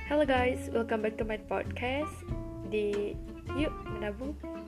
Hello guys, welcome back to my podcast di Yuk Menabung.